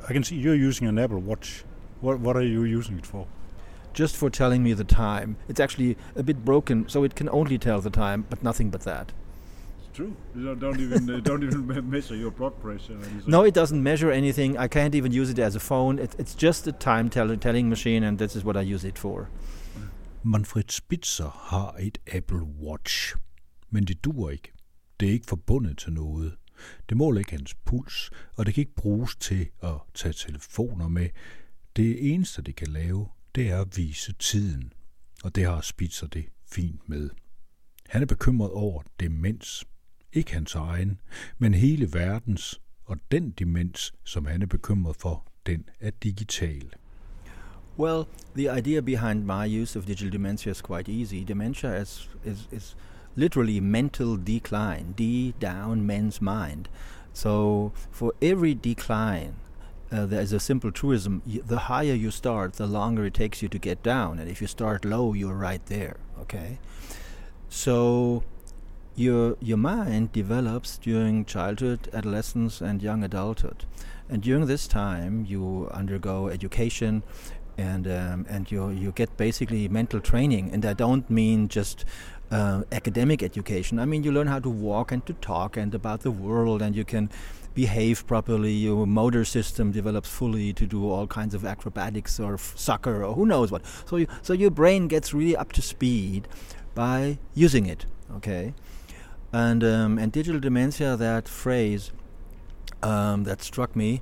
I can see you're using an Apple Watch. What are you using it for? Just for telling me the time. It's actually a bit broken, so it can only tell the time, but nothing but that. It's true. You don't even measure your blood pressure. No, it doesn't measure anything. I can't even use it as a phone. It's just a time telling machine, and this is what I use it for. Manfred Spitzer har et Apple Watch, men det duer ikke. Det er ikke forbundet til noget. Det måler ikke hans puls, og det kan ikke bruges til at tage telefoner med. Det eneste, det kan lave, det er at vise tiden, og det har Spitzer det fint med. Han er bekymret over demens. Ikke hans egen, men hele verdens, og den demens, som han er bekymret for, den er digital. Well, the idea behind my use of digital dementia is quite easy. Dementia is literally mental decline, down men's mind. So for every decline, there is a simple truism. The higher you start, the longer it takes you to get down. And if you start low, you're right there, okay? So your mind develops during childhood, adolescence, and young adulthood. And during this time, you undergo education, and you get basically mental training. And I don't mean just academic education. I mean, you learn how to walk and to talk and about the world, and you can behave properly. Your motor system develops fully to do all kinds of acrobatics or soccer or who knows what. So your brain gets really up to speed by using it. Okay, and digital dementia, that phrase that struck me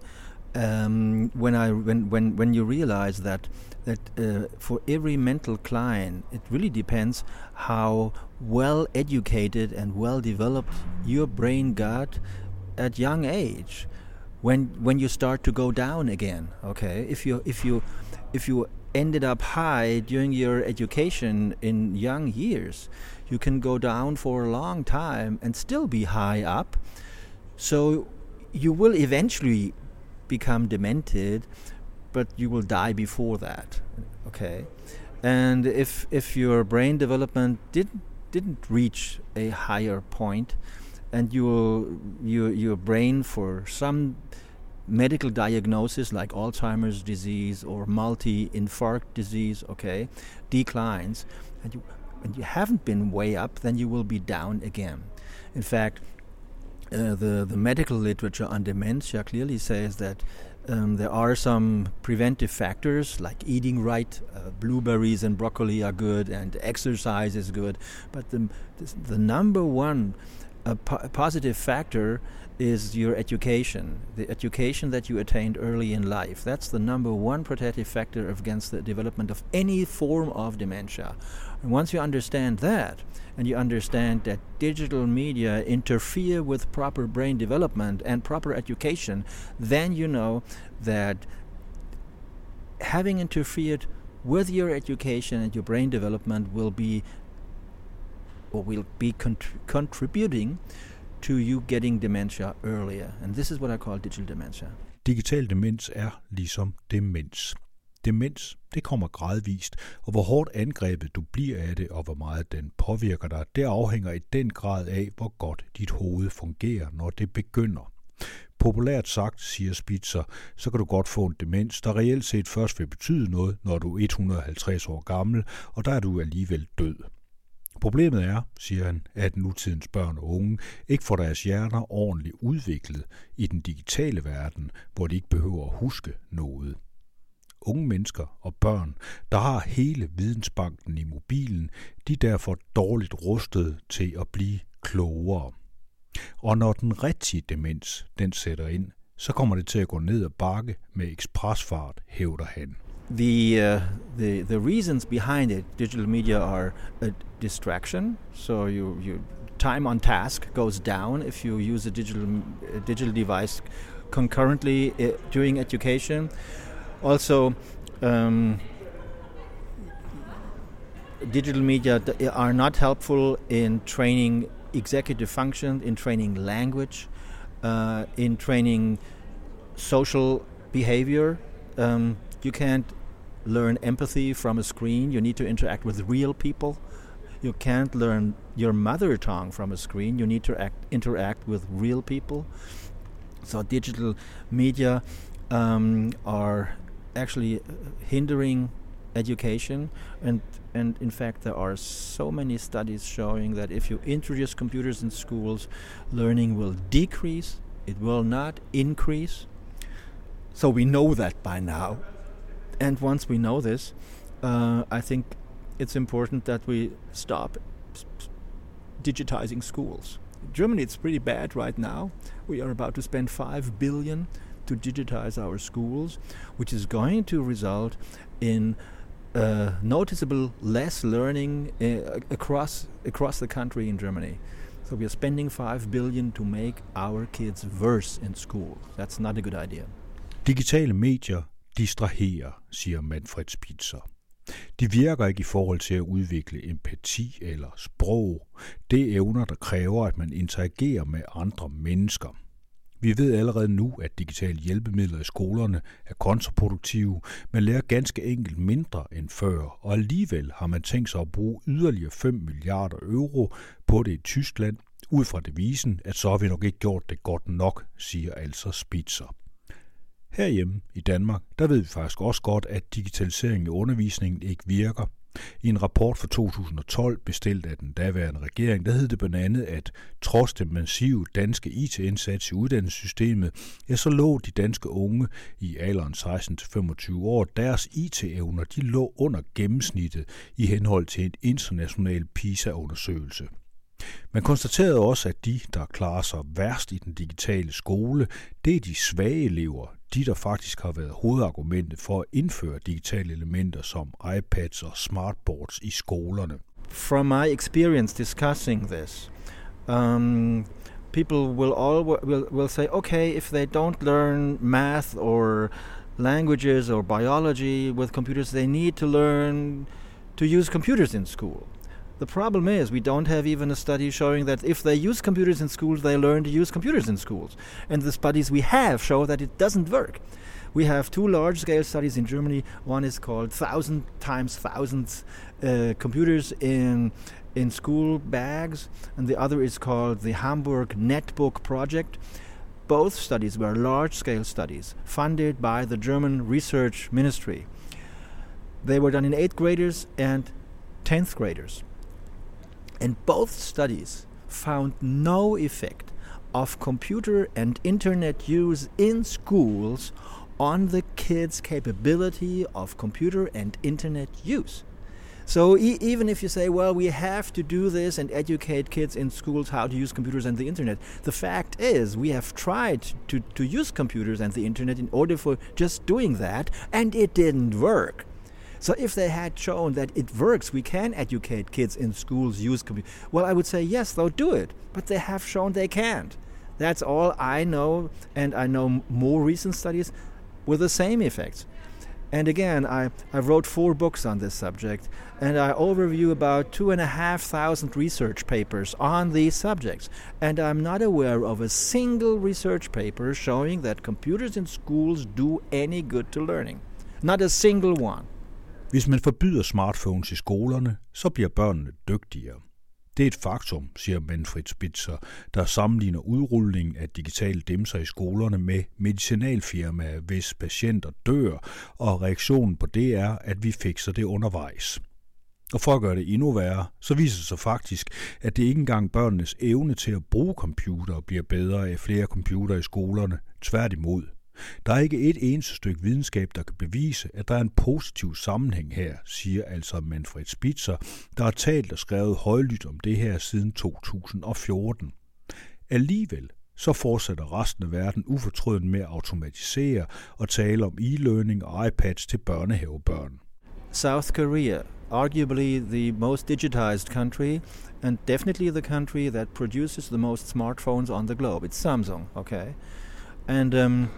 when you realize that for every mental decline, it really depends how well educated and well developed your brain got at young age. When you start to go down again, okay, if you ended up high during your education in young years, you can go down for a long time and still be high up. So you will eventually become demented, but you will die before that. Okay, and if your brain development didn't reach a higher point, and your brain, for some medical diagnosis like Alzheimer's disease or multi-infarct disease, okay, declines, and you haven't been way up, then you will be down again. In fact, the medical literature on dementia clearly says that there are some preventive factors like eating right, blueberries and broccoli are good, and exercise is good, but the number one positive factor is your education, the education that you attained early in life. That's the number one protective factor against the development of any form of dementia. And once you understand that, and you understand that digital media interfere with proper brain development and proper education, then you know that having interfered with your education and your brain development will be contributing to you getting dementia earlier. And this is what I call digital dementia. Digital demens er ligesom demens. Demens, det kommer gradvist, og hvor hårdt angrebet du bliver af det, og hvor meget den påvirker dig, det afhænger i den grad af, hvor godt dit hoved fungerer, når det begynder. Populært sagt, siger Spitzer, så kan du godt få en demens, der reelt set først vil betyde noget, når du er 150 år gammel, og der er du alligevel død. Problemet er, siger han, at nutidens børn og unge ikke får deres hjerner ordentligt udviklet i den digitale verden, hvor de ikke behøver at huske noget. Unge mennesker og børn, der har hele vidensbanken i mobilen, de er derfor dårligt rustet til at blive klogere. Og når den rigtige demens, den sætter ind, så kommer det til at gå ned ad bakke med ekspresfart, hævder han. The reasons behind it, digital media, are a distraction. So you time on task goes down if you use a digital device concurrently during education. Also, digital media are not helpful in training executive function, in training language, in training social behavior. You can't learn empathy from a screen. You need to interact with real people. You can't learn your mother tongue from a screen. You need to interact with real people. So digital media are actually hindering education, and in fact there are so many studies showing that if you introduce computers in schools, learning will decrease, it will not increase. So we know that by now, and once we know this, I think it's important that we stop digitizing schools. In Germany it's pretty bad right now. We are about to spend 5 billion to digitize our schools, which is going to result in noticeable less learning across the country in Germany. So we are spending 5 billion to make our kids worse in school. That's not a good idea. Digitale medier distraherer, siger Manfred Spitzer. De virker ikke i forhold til at udvikle empati eller sprog. Det er evner, der kræver, at man interagerer med andre mennesker. Vi ved allerede nu, at digitale hjælpemidler i skolerne er kontraproduktive. Man lærer ganske enkelt mindre end før, og alligevel har man tænkt sig at bruge yderligere 5 milliarder euro på det i Tyskland, ud fra devisen, at så har vi nok ikke gjort det godt nok, siger altså Spitzer. Herhjemme i Danmark, der ved vi faktisk også godt, at digitaliseringen i undervisningen ikke virker. I en rapport fra 2012 bestilt af den daværende regering, der hed det blandt andet, at trods den massive danske IT-indsats i uddannelsessystemet, ja, så lå de danske unge i alderen 16-25 år, deres IT-evner, de lå under gennemsnittet i henhold til en international PISA-undersøgelse. Man konstaterede også, at de, der klarer sig værst i den digitale skole, det er de svage elever, de der faktisk har været hovedargumentet for at indføre digitale elementer som iPads og smartboards i skolerne. From my experience discussing this, people will say, okay, if they don't learn math or languages or biology with computers, they need to learn to use computers in school. The problem is we don't have even a study showing that if they use computers in schools, they learn to use computers in schools. And the studies we have show that it doesn't work. We have 2 large-scale studies in Germany. One is called 1,000 times thousands computers in school bags, and the other is called the Hamburg Netbook Project. Both studies were large-scale studies funded by the German Research Ministry. They were done in 8th graders and 10th graders. And both studies found no effect of computer and internet use in schools on the kids' capability of computer and internet use. So even if you say, well, we have to do this and educate kids in schools how to use computers and the internet, the fact is we have tried to use computers and the internet in order for just doing that, and it didn't work. So if they had shown that it works, we can educate kids in schools use computers. Well, I would say, yes, they'll do it. But they have shown they can't. That's all I know, and I know more recent studies with the same effects. And again, I wrote 4 books on this subject, and I overview about 2,500 research papers on these subjects. And I'm not aware of a single research paper showing that computers in schools do any good to learning. Not a single one. Hvis man forbyder smartphones i skolerne, så bliver børnene dygtigere. Det er et faktum, siger Manfred Spitzer, der sammenligner udrulningen af digitale dimser i skolerne med medicinalfirmaer, hvis patienter dør, og reaktionen på det er, at vi fikser det undervejs. Og for at gøre det endnu værre, så viser det sig faktisk, at det ikke engang børnenes evne til at bruge computer bliver bedre af flere computere i skolerne, tværtimod. Der er ikke et eneste stykke videnskab, der kan bevise, at der er en positiv sammenhæng her, siger altså Manfred Spitzer, der har talt og skrevet højlydt om det her siden 2014. Alligevel så fortsætter resten af verden ufortrødent med at automatisere og tale om e-learning og iPads til børnehavebørn. South Korea, arguably the most digitized country, and definitely the country that produces the most smartphones on the globe. It's Samsung, okay? And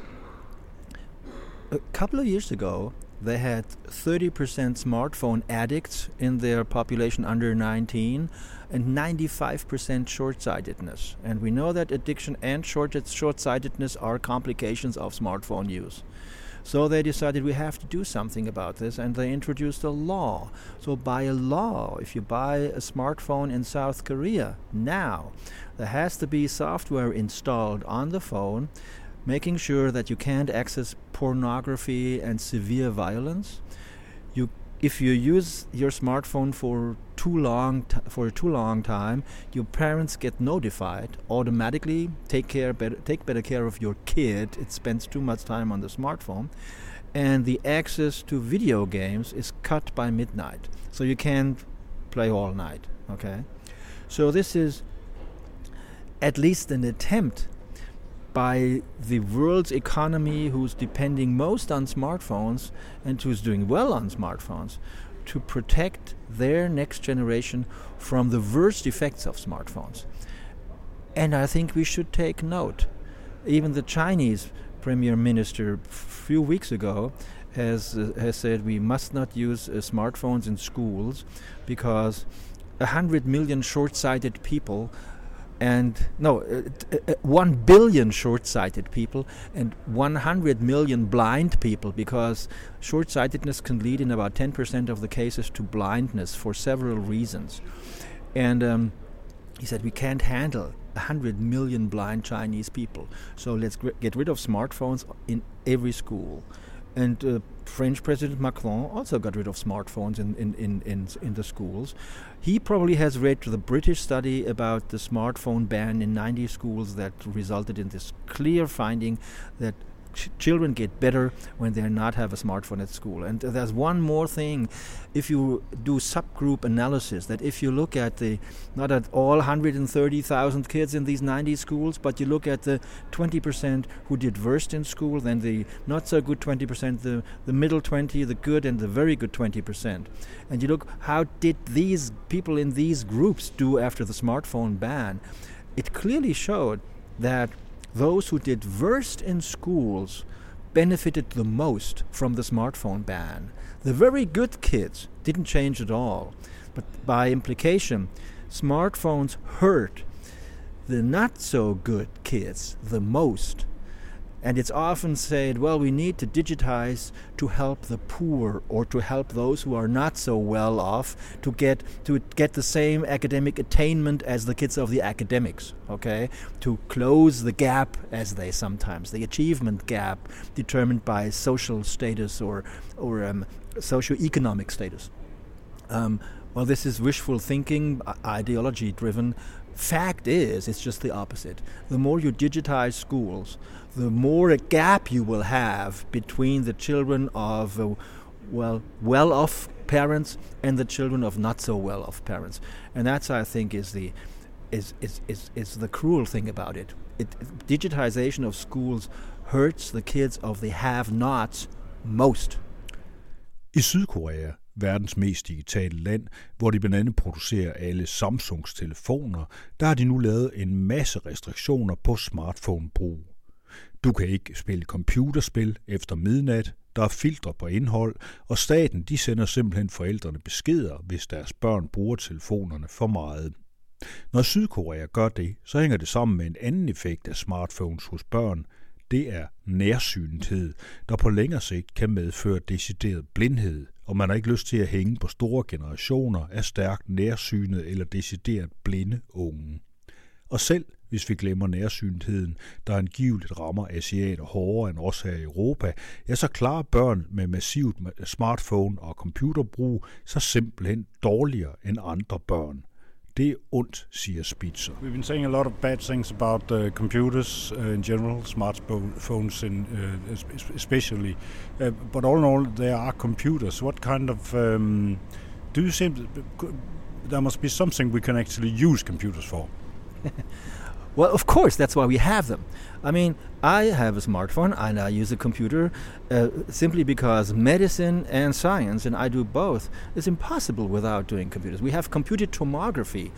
a couple of years ago, they had 30% smartphone addicts in their population under 19 and 95% short-sightedness. And we know that addiction and short-sightedness are complications of smartphone use. So they decided we have to do something about this, and they introduced a law. So by a law, if you buy a smartphone in South Korea now, there has to be software installed on the phone making sure that you can't access pornography and severe violence. If you use your smartphone for a too long time, your parents get notified automatically. Take better care of your kid. It spends too much time on the smartphone, and the access to video games is cut by midnight, so you can't play all night. Okay, so this is at least an attempt by the world's economy, who's depending most on smartphones and who's doing well on smartphones, to protect their next generation from the worst effects of smartphones. And I think we should take note. Even the Chinese Premier Minister a few weeks ago has said we must not use smartphones in schools because 100 million short-sighted people 1 billion short-sighted people and 100 million blind people, because short-sightedness can lead in about 10% of the cases to blindness for several reasons. And he said we can't handle 100 million blind Chinese people, so let's get rid of smartphones in every school. And French President Macron also got rid of smartphones in the schools. He probably has read the British study about the smartphone ban in 90 schools that resulted in this clear finding that children get better when they not have a smartphone at school. And there's one more thing. If you do subgroup analysis, that if you look at not at all 130,000 kids in these 90 schools, but you look at the 20% who did worst in school, then the not so good 20%, the middle 20, the good and the very good 20%. And you look, how did these people in these groups do after the smartphone ban? It clearly showed that those who did worst in schools benefited the most from the smartphone ban. The very good kids didn't change at all. But by implication, smartphones hurt the not so good kids the most. And it's often said, well, we need to digitize to help the poor or to help those who are not so well off to get the same academic attainment as the kids of the academics, okay? To close the gap, as they sometimes, the achievement gap determined by social status or socio-economic status. Well, this is wishful thinking, ideology-driven. Fact is, it's just the opposite. The more you digitize schools, the more a gap you will have between the children of well-off parents and the children of not so well-off parents. And that's, I think, is the cruel thing about it. Digitization of schools hurts the kids of the have-nots most. I Sydkorea, verdens mest digitale land, hvor de blandt andet producerer alle Samsungs telefoner, der har de nu lavet en masse restriktioner på smartphone-brug. Du kan ikke spille computerspil efter midnat, der er filtre på indhold, og staten de sender simpelthen forældrene beskeder, hvis deres børn bruger telefonerne for meget. Når Sydkorea gør det, så hænger det sammen med en anden effekt af smartphones hos børn. Det er nærsynethed, der på længere sigt kan medføre decideret blindhed, og man har ikke lyst til at hænge på store generationer af stærkt nærsynede eller decideret blinde unge. Og selv hvis vi glemmer nærsynetheden, der angiveligt rammer asiater hårdere end os her i Europa, ja, så klarer børn med massivt smartphone og computerbrug så simpelthen dårligere end andre børn. Det er ondt, siger Spitzer. We've been saying a lot of bad things about computers in general, smartphones especially. But all in all, there are computers. What kind of... do you think there must be something we can actually use computers for? Well, of course, that's why we have them. I mean, I have a smartphone and I use a computer simply because medicine and science, and I do both, is impossible without doing computers. We have computed tomography.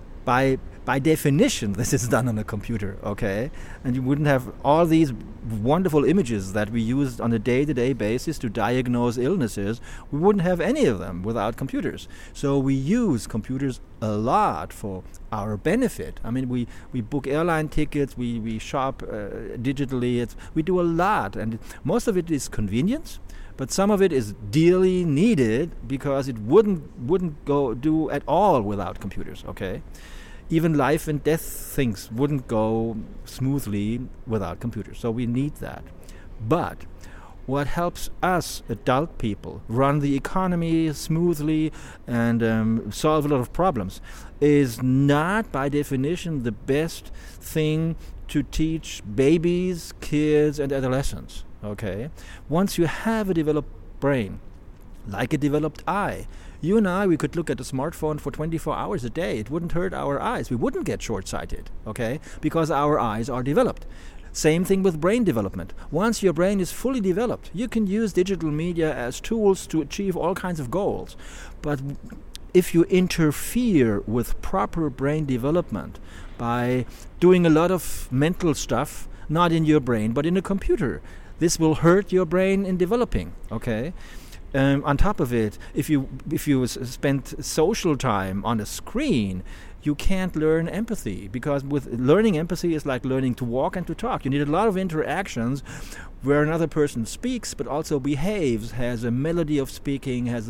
By definition, this is done on a computer, okay? And you wouldn't have all these wonderful images that we use on a day-to-day basis to diagnose illnesses. We wouldn't have any of them without computers. So we use computers a lot for our benefit. I mean, we book airline tickets, we shop digitally. We do a lot, and most of it is convenience. But some of it is dearly needed because it wouldn't do at all without computers, okay? even life and death things wouldn't go smoothly without computers. So we need that. But what helps us adult people run the economy smoothly and solve a lot of problems is not by definition the best thing to teach babies, kids, and adolescents. Okay? Once you have a developed brain, like a developed eye, you and I, we could look at a smartphone for 24 hours a day. It wouldn't hurt our eyes. We wouldn't get short-sighted, okay? Because our eyes are developed. Same thing with brain development. Once your brain is fully developed, you can use digital media as tools to achieve all kinds of goals. But if you interfere with proper brain development by doing a lot of mental stuff, not in your brain, but in a computer, this will hurt your brain in developing, okay? On top of it, if you spend social time on a screen, you can't learn empathy, because with learning empathy is like learning to walk and to talk. You need a lot of interactions where another person speaks but also behaves, has a melody of speaking, has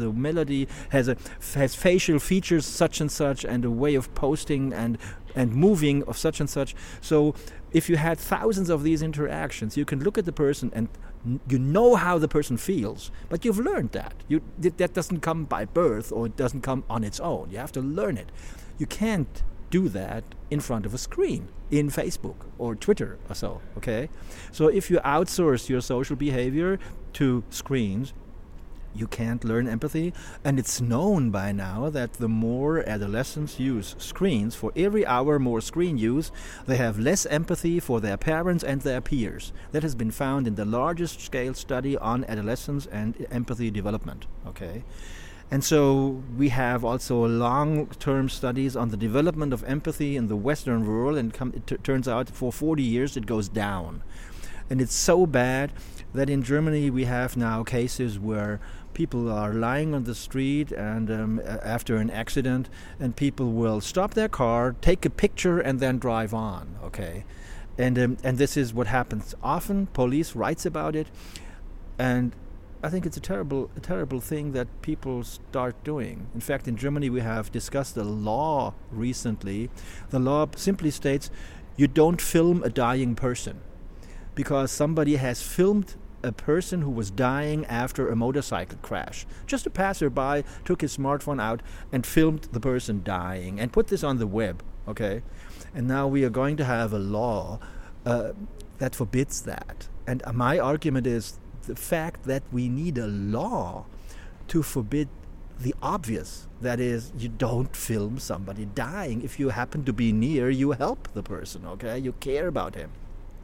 facial features such and such, and a way of posting and moving of such and such. So if you had thousands of these interactions, you can look at the person and you know how the person feels, but you've learned that. That doesn't come by birth, or it doesn't come on its own. You have to learn it. You can't do that in front of a screen in Facebook or Twitter or so, okay? So if you outsource your social behavior to screens, you can't learn empathy. And it's known by now that the more adolescents use screens, for every hour more screen use, they have less empathy for their parents and their peers. That has been found in the largest scale study on adolescence and empathy development, okay? And so we have also long-term studies on the development of empathy in the Western world, and it turns out for 40 years it goes down. And it's so bad that in Germany we have now cases where people are lying on the street and after an accident, and people will stop their car, take a picture, and then drive on, okay? And this is what happens often. Police writes about it, and I think it's a terrible thing that people start doing. In fact, in Germany we have discussed a law recently. The law simply states you don't film a dying person, because somebody has filmed a person who was dying after a motorcycle crash. Just a passerby took his smartphone out and filmed the person dying and put this on the web, okay? And now we are going to have a law that forbids that. And my argument is the fact that we need a law to forbid the obvious. That is, you don't film somebody dying. If you happen to be near, you help the person, okay? You care about him.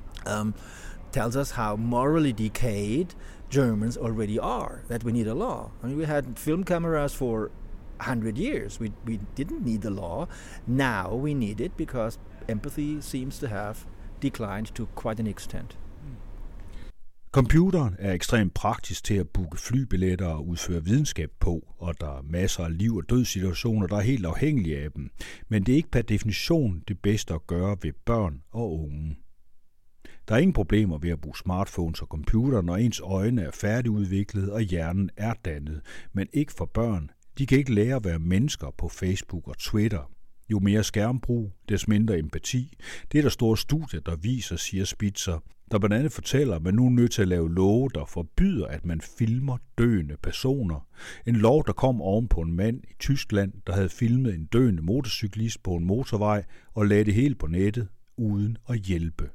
Tells us how morally decayed Germans already are, that we need a law. I mean, we had film cameras for 100 years. We didn't need the law. Now we need it because empathy seems to have declined to quite an extent. Computeren er ekstremt praktisk til at booke flybilletter og udføre videnskab på, og der er masser af liv- og dødssituationer, der er helt afhængige af dem. Men det er ikke per definition det bedste at gøre ved børn og unge. Der er ingen problemer ved at bruge smartphones og computer, når ens øjne er færdigudviklet og hjernen er dannet, men ikke for børn. De kan ikke lære at være mennesker på Facebook og Twitter. Jo mere skærmbrug, des mindre empati. Det er der store studier, der viser, siger Spitzer, der blandt andet fortæller, at man nu er nødt til at lave love, der forbyder, at man filmer døende personer. En lov, der kom oven på en mand i Tyskland, der havde filmet en døende motorcyklist på en motorvej og lagde det hele på nettet uden at hjælpe.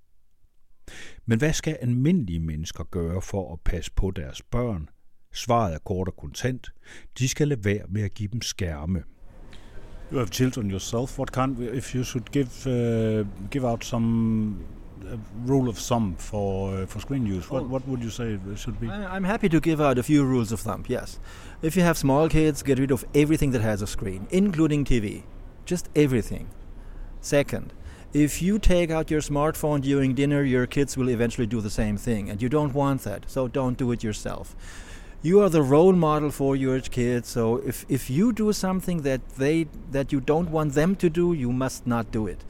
Men hvad skal almindelige mennesker gøre for at passe på deres børn? Svaret er kort og kontant. De skal lade være med at give dem skærme. You have children yourself. What kind, if you should give out some rule of thumb for screen use, what would you say it should be? I'm happy to give out a few rules of thumb, yes. If you have small kids, get rid of everything that has a screen, including TV. Just everything. Second, if you take out your smartphone during dinner, your kids will eventually do the same thing, and you don't want that, so don't do it yourself. You are the role model for your kids, so if you do something that you don't want them to do, you must not do it.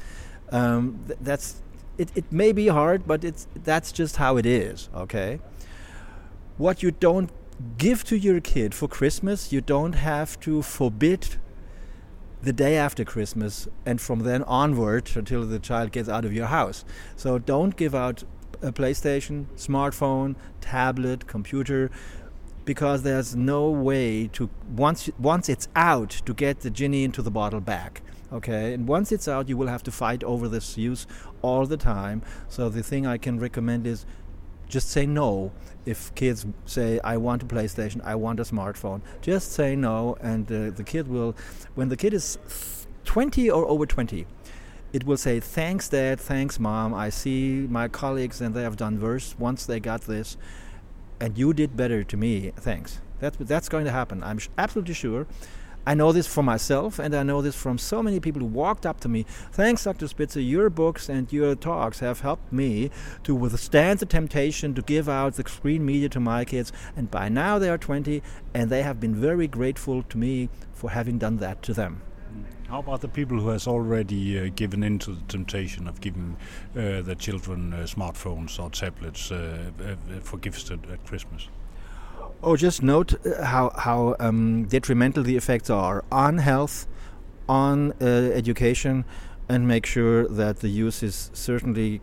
It may be hard, but that's just how it is, okay? What you don't give to your kid for Christmas, you don't have to forbid the day after Christmas, and from then onward until the child gets out of your house. So don't give out a PlayStation, smartphone, tablet, computer, because there's no way to, once it's out, to get the genie into the bottle back. Okay, and once it's out, you will have to fight over this use all the time. So the thing I can recommend is just say no. If kids say, I want a PlayStation, I want a smartphone, just say no, and the kid will, when the kid is 20 or over 20, it will say, thanks Dad, thanks Mom, I see my colleagues and they have done worse once they got this, and you did better to me, thanks. That's going to happen, I'm absolutely sure. I know this for myself, and I know this from so many people who walked up to me. Thanks, Dr. Spitzer, your books and your talks have helped me to withstand the temptation to give out the screen media to my kids. And by now they are 20, and they have been very grateful to me for having done that to them. How about the people who has already given in to the temptation of giving their children smartphones or tablets for gifts at Christmas? Oh, just note how detrimental the effects are on health, on education, and make sure that the use is certainly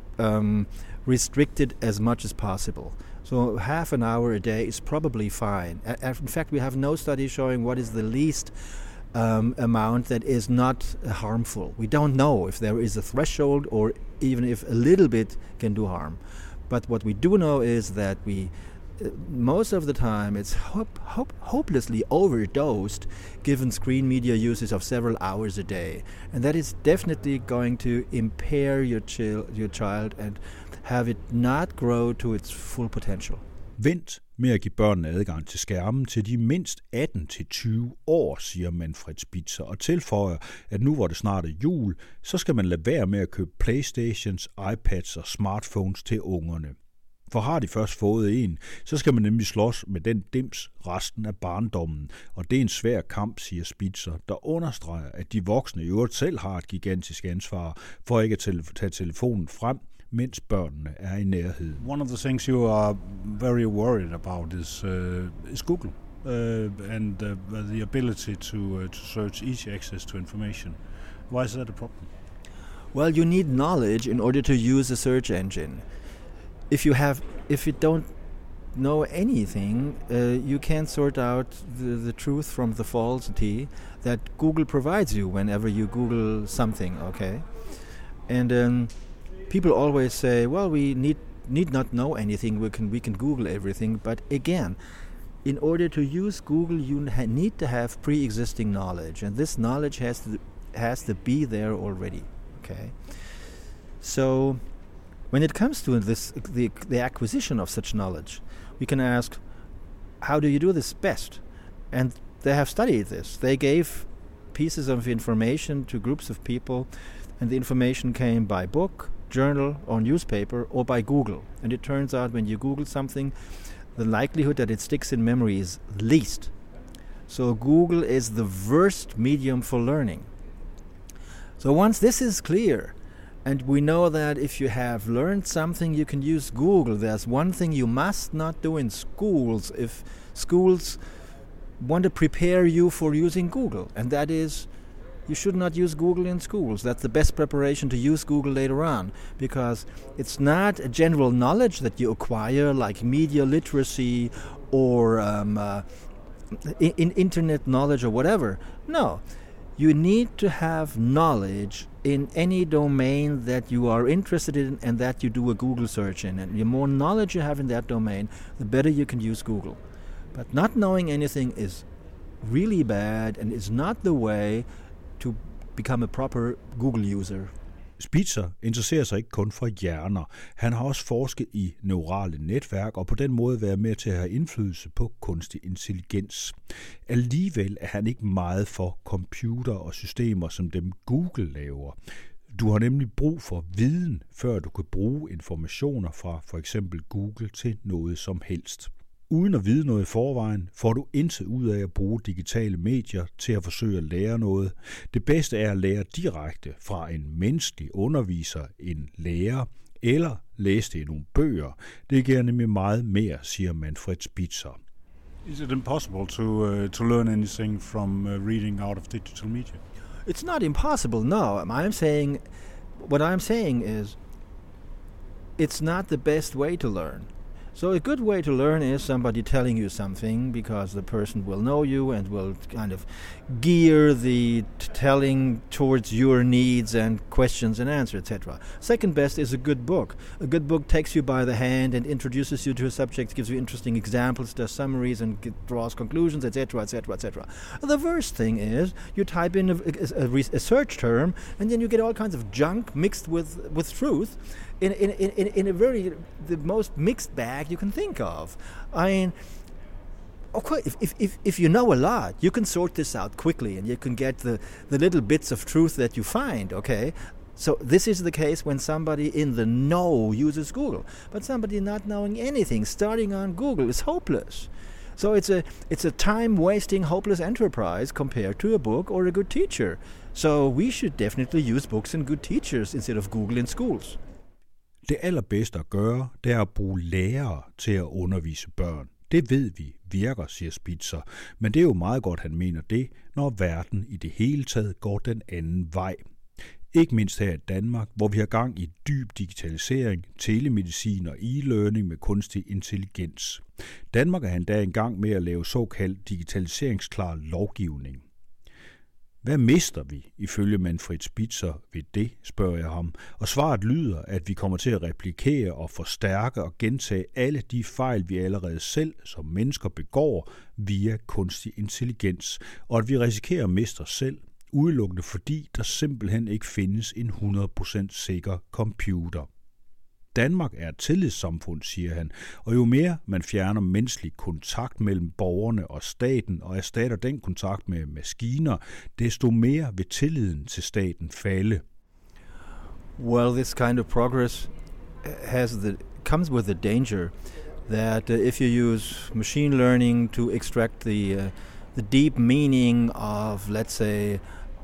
restricted as much as possible. So half an hour a day is probably fine. In fact, we have no study showing what is the least amount that is not harmful. We don't know if there is a threshold or even if a little bit can do harm. But what we do know is that most of the time it's hopelessly overdosed given screen media uses of several hours a day, and that is definitely going to impair your child and have it not grow to its full potential. Vent med at give børnene adgang til skærmen til de mindst 18-20 år, siger Manfred Spitzer, og tilføjer, at nu hvor det snart er jul, så skal man lade være med at købe Playstations, iPads og smartphones til ungerne. For har de først fået en, så skal man nemlig slås med den dims resten af barndommen, og det er en svær kamp, siger Spitzer, der understreger, at de voksne i øvrigt selv har et gigantisk ansvar for ikke at tage telefonen frem, mens børnene er i nærheden. One of the things you are very worried about is Google and the ability to search easy access to information. Why is that a problem? Well, you need knowledge in order to use a search engine. If you don't know anything, you can't sort out the truth from the falsity that Google provides you whenever you Google something, okay? And people always say, well, we need not know anything, we can Google everything, but again, in order to use Google, you need to have pre-existing knowledge, and this knowledge has to be there already, okay? So when it comes to the acquisition of such knowledge, we can ask, how do you do this best? And they have studied this. They gave pieces of information to groups of people, and the information came by book, journal, or newspaper, or by Google. And it turns out when you Google something, the likelihood that it sticks in memory is least. So Google is the worst medium for learning. So once this is clear, and we know that if you have learned something, you can use Google. There's one thing you must not do in schools if schools want to prepare you for using Google, and that is you should not use Google in schools. That's the best preparation to use Google later on, because it's not a general knowledge that you acquire like media literacy or in internet knowledge or whatever. No, you need to have knowledge in any domain that you are interested in and that you do a Google search in. And the more knowledge you have in that domain, the better you can use Google. But not knowing anything is really bad and is not the way to become a proper Google user. Spitzer interesserer sig ikke kun for hjerner. Han har også forsket i neurale netværk og på den måde været med til at have indflydelse på kunstig intelligens. Alligevel er han ikke meget for computer og systemer som dem Google laver. Du har nemlig brug for viden, før du kan bruge informationer fra for eksempel Google til noget som helst. Uden at vide noget i forvejen, får du intet ud af at bruge digitale medier til at forsøge at lære noget. Det bedste er at lære direkte fra en menneskelig underviser, en lærer, eller læse det i nogle bøger. Det giver nemlig meget mere, siger Manfred Spitzer. Is it impossible to learn anything from reading out of digital media? It's not impossible, no. What I'm saying is, it's not the best way to learn. So a good way to learn is somebody telling you something, because the person will know you and will kind of gear the telling towards your needs and questions and answers, etc. Second best is a good book. A good book takes you by the hand and introduces you to a subject, gives you interesting examples, does summaries and draws conclusions, etc., etc., etc. The worst thing is you type in a search term and then you get all kinds of junk mixed with truth in the most mixed bag you can think of. I mean, of course, if you know a lot, you can sort this out quickly and you can get the little bits of truth that you find, okay? So this is the case when somebody in the know uses Google. But somebody not knowing anything, starting on Google, is hopeless. So it's a time-wasting, hopeless enterprise compared to a book or a good teacher. So we should definitely use books and good teachers instead of Google in schools. Det allerbedste at gøre, det er at bruge lærere til at undervise børn. Det ved vi virker, siger Spitzer, men det er jo meget godt, han mener det, når verden i det hele taget går den anden vej. Ikke mindst her i Danmark, hvor vi har gang i dyb digitalisering, telemedicin og e-learning med kunstig intelligens. Danmark er endda i gang med at lave såkaldt digitaliseringsklar lovgivning. Hvad mister vi, ifølge Manfred Spitzer, ved det, spørger jeg ham, og svaret lyder, at vi kommer til at replikere og forstærke og gentage alle de fejl, vi allerede selv som mennesker begår via kunstig intelligens, og at vi risikerer at miste os selv, udelukkende fordi der simpelthen ikke findes en 100% sikker computer. Danmark er et tillidssamfund, siger han, og jo mere man fjerner menneskelig kontakt mellem borgerne og staten og erstatter den kontakt med maskiner, desto mere vil tilliden til staten falde. Well, this kind of progress comes with the danger that if you use machine learning to extract the deep meaning of, let's say,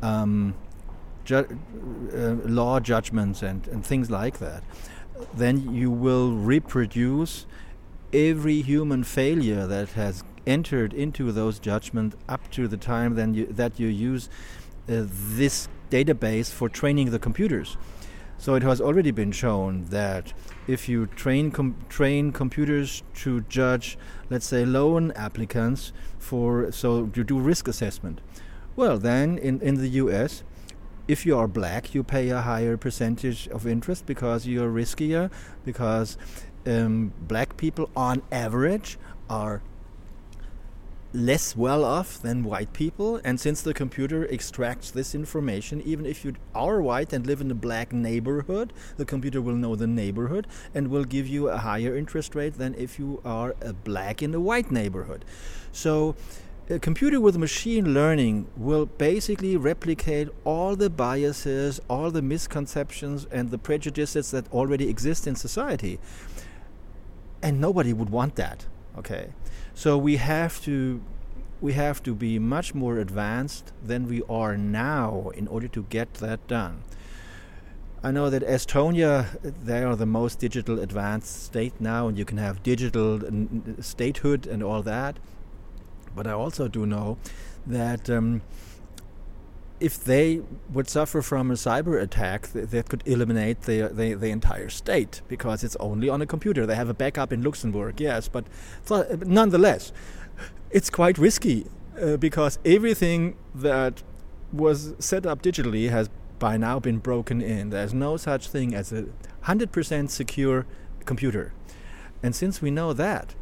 law judgments and things like that, then you will reproduce every human failure that has entered into those judgments up to the time that you use this database for training the computers. So it has already been shown that if you train computers to judge, let's say, loan applicants so you do risk assessment, well, then in the US, if you are black, you pay a higher percentage of interest because you're riskier, because black people on average are less well off than white people, and since the computer extracts this information, even if you are white and live in a black neighborhood, the computer will know the neighborhood and will give you a higher interest rate than if you are a black in a white neighborhood. So a computer with machine learning will basically replicate all the biases, all the misconceptions and the prejudices that already exist in society. And nobody would want that, okay? So we have to be much more advanced than we are now in order to get that done. I know that Estonia, they are the most digital advanced state now, and you can have digital statehood and all that. But I also do know that if they would suffer from a cyber attack, that could eliminate the entire state, because it's only on a computer. They have a backup in Luxembourg, yes, but nonetheless, it's quite risky because everything that was set up digitally has by now been broken in. There's no such thing as a 100% secure computer. And since we know that,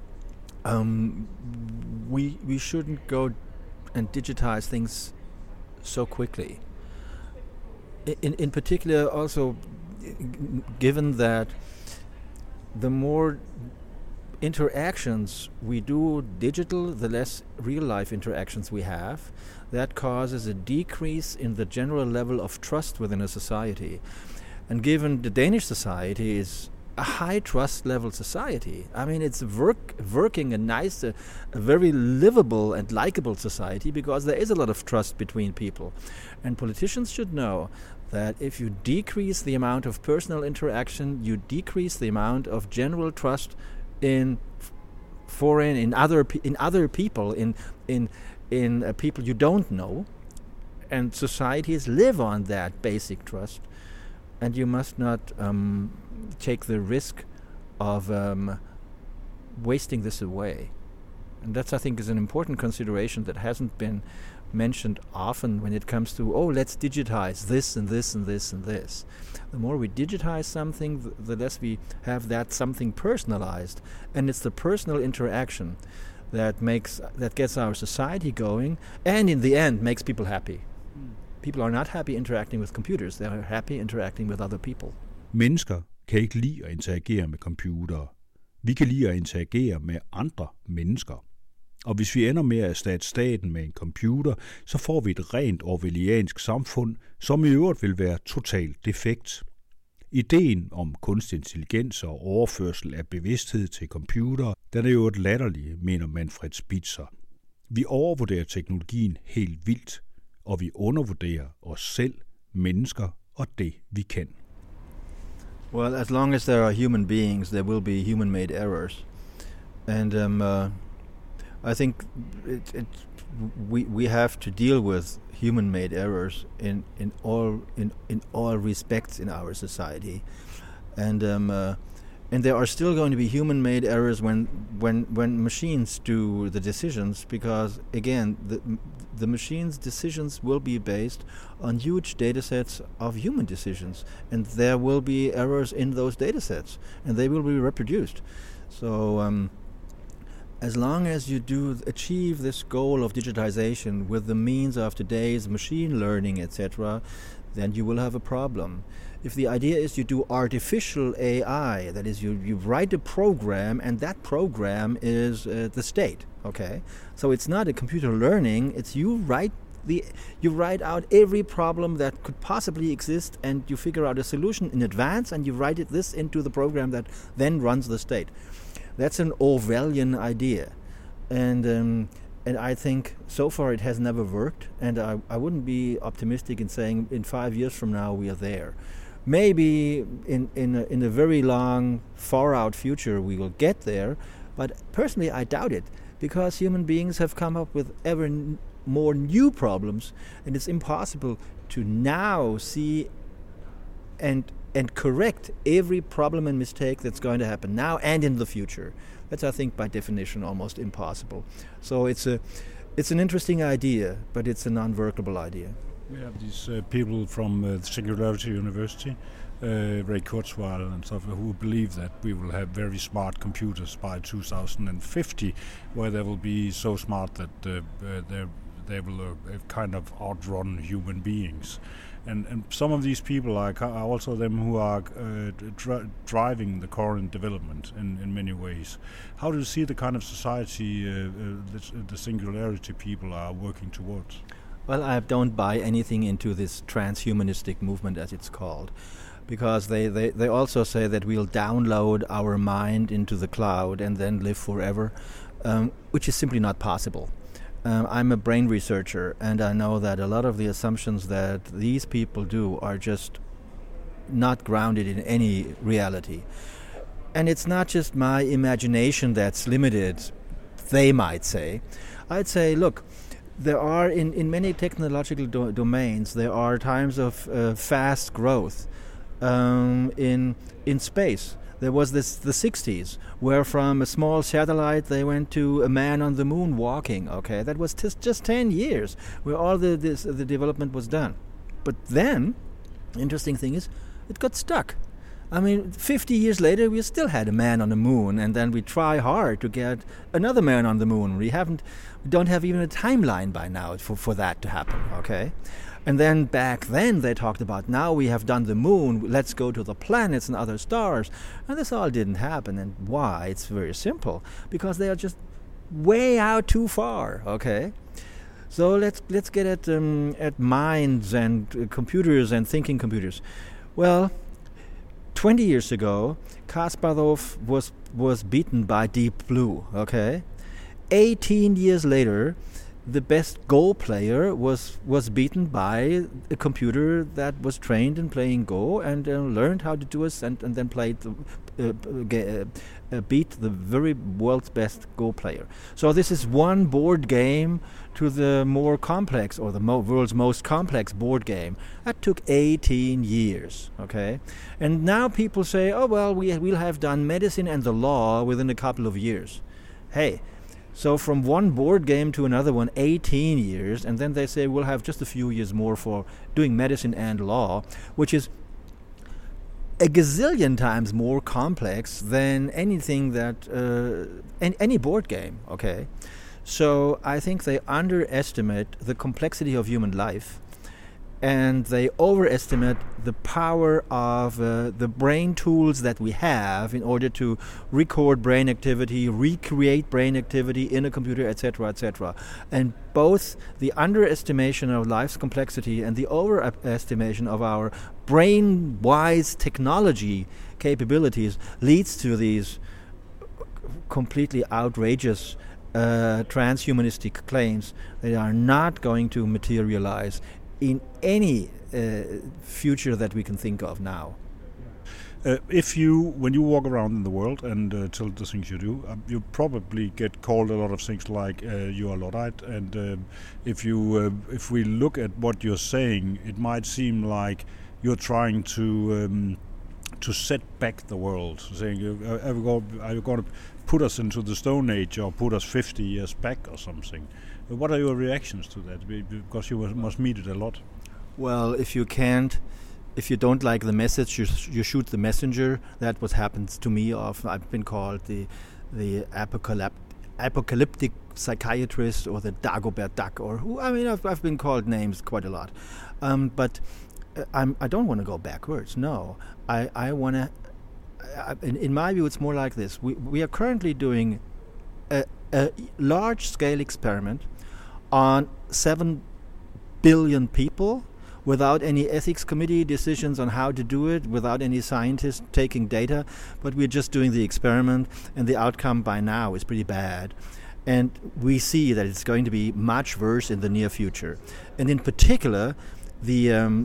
we shouldn't go and digitize things so quickly. In particular, also, given that the more interactions we do digital, the less real-life interactions we have, that causes a decrease in the general level of trust within a society. And given the Danish society is a high trust level society. I mean, it's working a nice, a very livable and likable society because there is a lot of trust between people. And politicians should know that if you decrease the amount of personal interaction, you decrease the amount of general trust in foreign, in other people, in people you don't know, and societies live on that basic trust, and you must not take the risk of wasting this away. And that's, I think, is an important consideration that hasn't been mentioned often when it comes to, let's digitize this and this and this and this. The more we digitize something, the less we have that something personalized. And it's the personal interaction that gets our society going, and in the end makes people happy. People are not happy interacting with computers. They are happy interacting with other people. Mennesker kan ikke lide at interagere med computere. Vi kan lide at interagere med andre mennesker. Og hvis vi ender med at erstatte staten med en computer, så får vi et rent orwelliansk samfund, som i øvrigt vil være totalt defekt. Ideen om kunstig intelligens og overførsel af bevidsthed til computere, den er jo et latterligt, mener Manfred Spitzer. Vi overvurderer teknologien helt vildt, og vi undervurderer os selv, mennesker og det, vi kan. Well, as long as there are human beings, there will be human-made errors. And I think we have to deal with human-made errors in all respects in our society, and there are still going to be human-made errors when machines do the decisions, because again the machines' decisions will be based on huge data sets of human decisions, and there will be errors in those data sets, and they will be reproduced. So as long as you do achieve this goal of digitization with the means of today's machine learning, etc., then you will have a problem. If the idea is you do artificial AI, that is, you write a program, and that program is the state, okay? So it's not a computer learning, it's you write out every problem that could possibly exist, and you figure out a solution in advance, and you write this into the program that then runs the state. That's an Orwellian idea, and I think so far it has never worked, and I wouldn't be optimistic in saying in 5 years from now we are there. Maybe in a very long, far-out future we will get there, but personally I doubt it, because human beings have come up with ever more new problems, and it's impossible to now see and correct every problem and mistake that's going to happen now and in the future. That's, I think, by definition, almost impossible. So it's an interesting idea, but it's a non-workable idea. We have these people from the Singularity University, Ray Kurzweil and stuff, who believe that we will have very smart computers by 2050, where they will be so smart that they will kind of outrun human beings. And some of these people are also them who are driving the current development in many ways. How do you see the kind of society the Singularity people are working towards? Well, I don't buy anything into this transhumanistic movement, as it's called, because they also say that we'll download our mind into the cloud and then live forever, which is simply not possible. I'm a brain researcher, and I know that a lot of the assumptions that these people do are just not grounded in any reality. And it's not just my imagination that's limited, they might say. I'd say, look, there are, in many technological domains, there are times of fast growth in space. There was the 60s, where from a small satellite they went to a man on the moon walking, okay? That was just 10 years where all the development was done. But then, the interesting thing is, it got stuck. I mean, 50 years later, we still had a man on the moon, and then we try hard to get another man on the moon. We don't have even a timeline by now for that to happen, okay? And then back then they talked about, now we have done the moon, let's go to the planets and other stars. And this all didn't happen. And why? It's very simple. Because they are just way out too far, okay? So let's get at minds and computers and thinking computers. Well, 20 years ago, Kasparov was beaten by Deep Blue, okay? 18 years later, the best Go player was beaten by a computer that was trained in playing Go and learned how to do it and then played beat the very world's best Go player. So this is one board game to the more complex, or the world's most complex board game. That took 18 years, okay? And now people say, oh, well, we'll have done medicine and the law within a couple of years. Hey, so from one board game to another one, 18 years, and then they say we'll have just a few years more for doing medicine and law, which is a gazillion times more complex than anything that any board game, okay? So I think they underestimate the complexity of human life, and they overestimate the power of the brain tools that we have in order to record brain activity, recreate brain activity in a computer, etc., etc. And both the underestimation of life's complexity and the overestimation of our brain-wise technology capabilities leads to these completely outrageous transhumanistic claims that are not going to materialize in any future that we can think of now. When you walk around in the world and tell the things you do, you probably get called a lot of things like you are Luddite, and if we look at what you're saying, it might seem like you're trying to set back the world, saying are you going to put us into the Stone Age or put us 50 years back or something. What are your reactions to that? Because you must meet it a lot. Well, if you don't like the message, you shoot the messenger. That's what happens to me often. I've been called the apocalyptic psychiatrist or the Dagobert Duck, or who. I mean, I've been called names quite a lot. But I don't want to go backwards. No, I want to. In my view, it's more like this. We are currently doing a large-scale experiment on 7 billion people without any ethics committee decisions on how to do it, without any scientists taking data, but we're just doing the experiment, and the outcome by now is pretty bad. And we see that it's going to be much worse in the near future. And in particular, the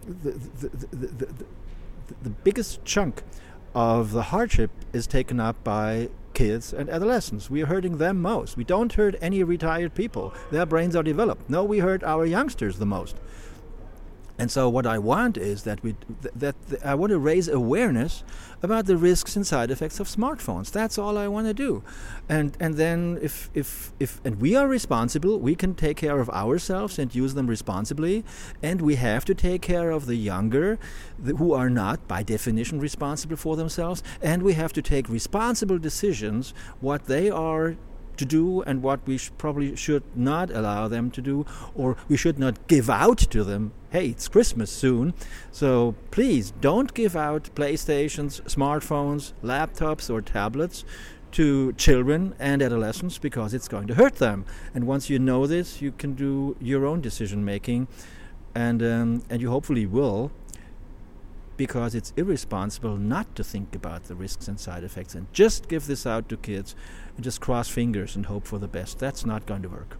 biggest chunk of the hardship is taken up by kids and adolescents. We are hurting them most. We don't hurt any retired people. Their brains are developed. No, we hurt our youngsters the most. And so what I want is that I want to raise awareness about the risks and side effects of smartphones. That's all I want to do. And then if we are responsible, we can take care of ourselves and use them responsibly. And we have to take care of the younger who are not, by definition, responsible for themselves. And we have to take responsible decisions what they are to do and what we probably should not allow them to do, or we should not give out to them. Hey, it's Christmas soon, so please don't give out PlayStations, smartphones, laptops or tablets to children and adolescents, because it's going to hurt them. And once you know this, you can do your own decision making, and you hopefully will, because it's irresponsible not to think about the risks and side effects and just give this out to kids and just cross fingers and hope for the best. That's not going to work.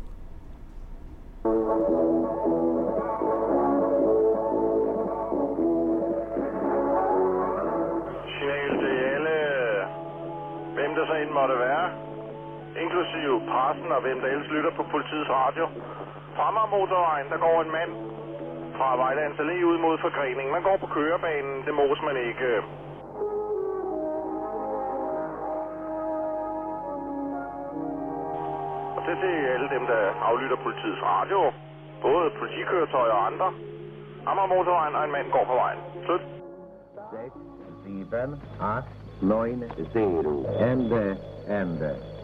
Signal til alle, hvem der så end måtte være, inklusive pressen og hvem der ellers lytter på politiets radio. Fra motorvejen, der går en mand fra Vejlands Allé ud mod forgreningen. Man går på kørebanen, det mås man ikke. Og det er til alle dem, der aflytter politiets radio. Både politikøretøjer og andre. Amager motorvejen, og en mand går på vejen. Slut. 6, 7, 8, 9, 0. Ende.